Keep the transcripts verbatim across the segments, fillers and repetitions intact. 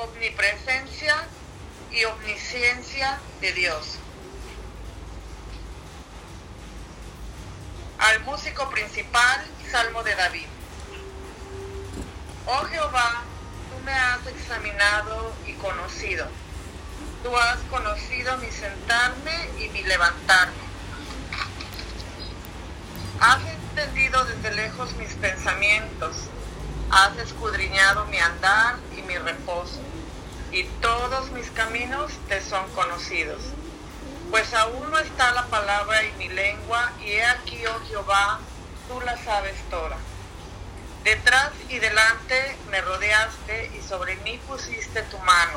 omnipresencia y omnisciencia de Dios. Al músico principal, Salmo de David. Oh Jehová, tú me has examinado y conocido. Tú has conocido mi sentarme y mi levantarme. Has entendido desde lejos mis pensamientos. Has escudriñado mi andar y mi reposo. Y todos mis caminos te son conocidos. Pues aún no está la palabra en mi lengua, y he aquí, oh Jehová, tú la sabes toda. Detrás y delante me rodeaste, y sobre mí pusiste tu mano.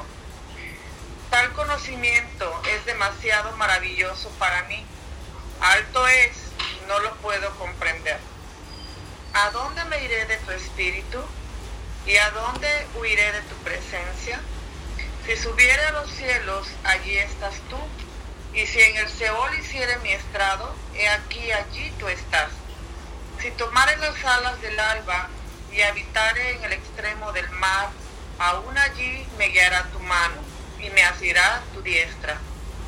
Tal conocimiento es demasiado maravilloso para mí. Alto es, y no lo puedo comprender. ¿A dónde me iré de tu espíritu? ¿Y a dónde huiré de tu presencia? Si subiere a los cielos, allí estás tú. Y si en el Seol hiciere mi estrado, he aquí allí tú estás. Si tomare las alas del alba y habitare en el extremo del mar, aún allí me guiará tu mano y me asirá tu diestra.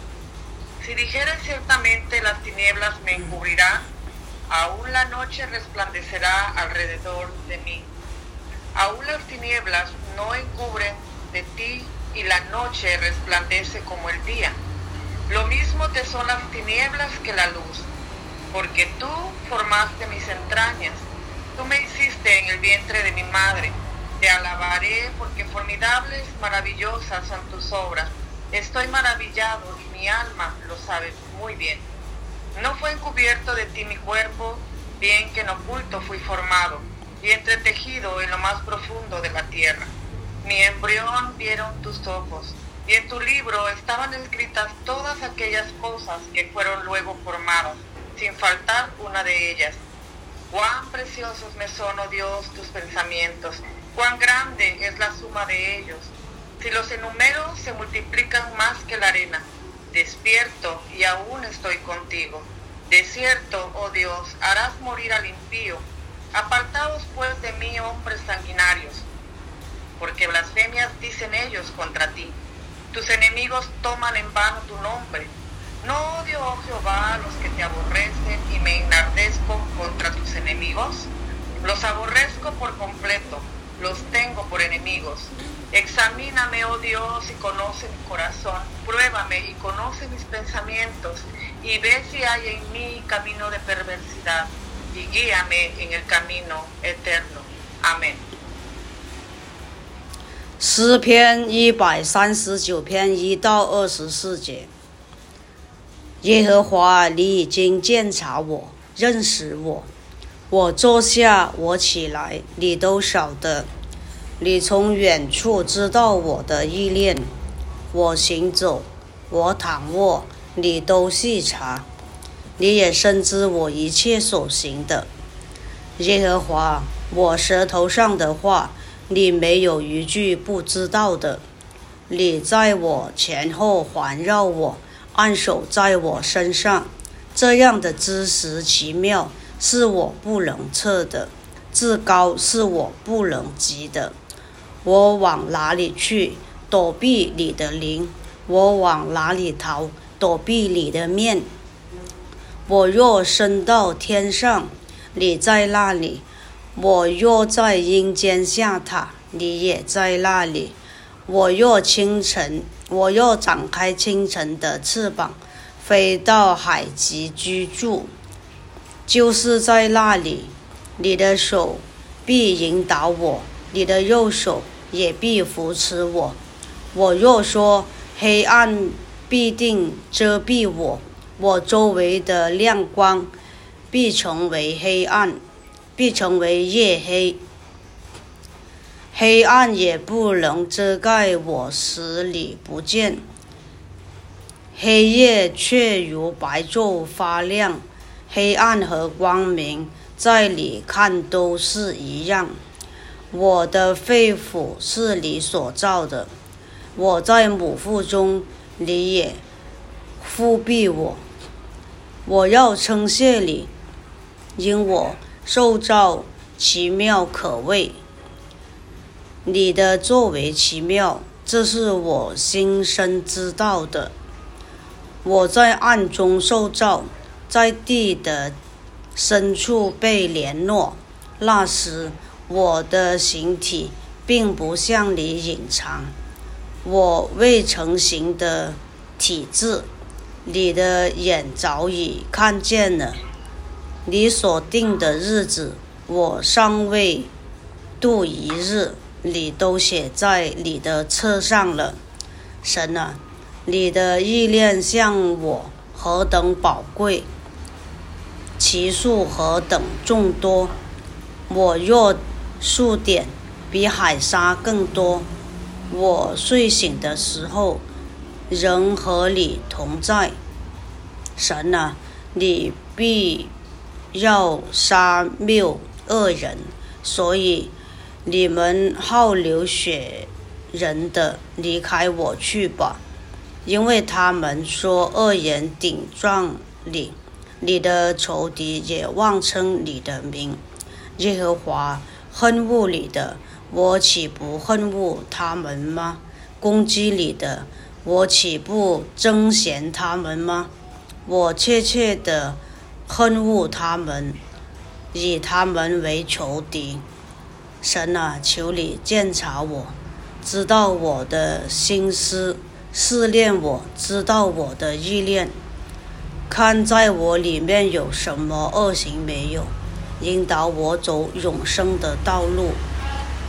Si dijere ciertamente las tinieblas me encubrirán, aún la noche resplandecerá alrededor de mí. Aún las tinieblas no encubren de ti y la noche resplandece como el día. Lo mismo te son las tinieblas que la luz, porque tú formaste mis entrañas, tú me hiciste en el vientre de mi madre. Te alabaré porque formidables, maravillosas son tus obras. Estoy maravillado y mi alma lo sabe muy bien. No fue encubierto de ti mi cuerpo, bien que en oculto fui formado y entretejido en lo más profundo de la tierra. Mi embrión vieron tus ojos. Y en tu libro estaban escritas todas aquellas cosas que fueron luego formadas, sin faltar una de ellas. Cuán preciosos me son, oh Dios, tus pensamientos, cuán grande es la suma de ellos. Si los enumero, se multiplican más que la arena. Despierto y aún estoy contigo. De cierto, oh Dios, harás morir al impío. Apartaos pues de mí, hombres sanguinarios, porque blasfemias dicen ellos contra ti. Tus enemigos toman en vano tu nombre. ¿No odio, oh Jehová, a los que te aborrecen y me enardezco contra tus enemigos? Los aborrezco por completo, los tengo por enemigos. Examíname, oh Dios, y conoce mi corazón. Pruébame y conoce mis pensamientos, y ve si hay en mí camino de perversidad, y guíame en el camino eterno. Amén。 诗篇一百三十九篇一到二十四节。耶和华，你已经鉴察我，认识我。我坐下，我起来，你都晓得。你从远处知道我的意念。我行走，我躺卧，你都细察。你也深知我一切所行的。耶和华，我舌头上的话，你没有一句不知道的。你在我前后环绕我，按手在我身上。这样的知识奇妙，是我不能测的，至高是我不能及的。我往哪里去，躲避你的灵？我往哪里逃，躲避你的面？我若升到天上，你在那里；我若在阴间下榻，你也在那里。我若清晨，我若展开清晨的翅膀，飞到海极居住，就是在那里，你的手必引导我，你的右手也必扶持我。我若说黑暗必定遮蔽我，我周围的亮光必成为黑暗，必成为夜黑。黑暗也不能遮盖我，使你不见。黑夜却如白昼发亮，黑暗和光明在你看都是一样。我的肺腑是你所造的，我在母腹中，你也覆庇我。我要称谢你，因我受造奇妙可畏。你的作为奇妙， 这是我心生知道的。我在暗中受造，在地的深处被联络。那时我的形体并不向你隐藏，我未成形的体质，你的眼早已看见了。你所定的日子，我尚未度一日，你都写在你的册上了。神啊，你的意念向我何等宝贵，其数何等众多。我若数点，比海沙更多。我睡醒的时候，仍和你同在。神啊，你必要杀灭恶人，所以你们好流血人的离开我去吧，因为他们说恶言顶撞你，你的仇敌也妄称你的名。耶和华恨恶你的，我岂不恨恶他们吗？攻击你的，我岂不憎嫌他们吗？我切切的恨恶他们，以他们为仇敌。神啊，求你鉴察我，知道我的心思，试炼我，知道我的意念，看在我里面有什么恶行没有，引导我走永生的道路。